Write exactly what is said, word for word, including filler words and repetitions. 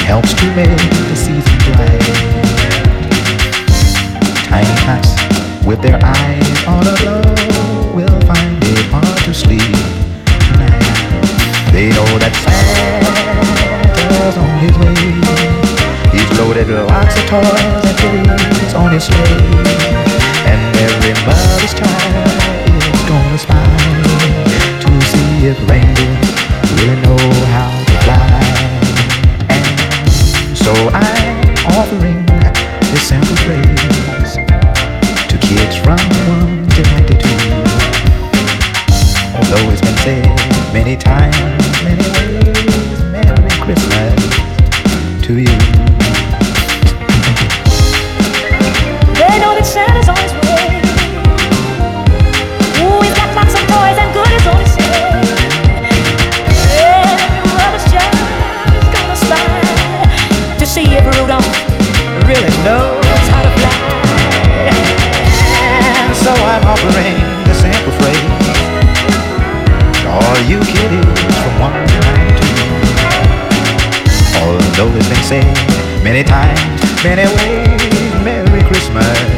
helps to make the season bright. Tiny tots with their eyes on a glow will find it hard to sleep tonight. They know that Santa's on his way. He's loaded lots of toys and goodies on his sleigh, and every mother's child is gonna spy to see if reindeer really know how to fly. And so I'm offering this sample phrase to kids from one to ninety-two. Although it's been said many times, many ways, Merry Christmas to you. They know that Santa's on his way. Ooh, he's got lots of toys and goodies on his sleigh. Every mother's child is gonna spy to see if Rudolph really knows how to fly. And so I'm offering the sample phrase to all you kiddies from one to ninety-two. Although it's been said many times, many ways, Merry Christmas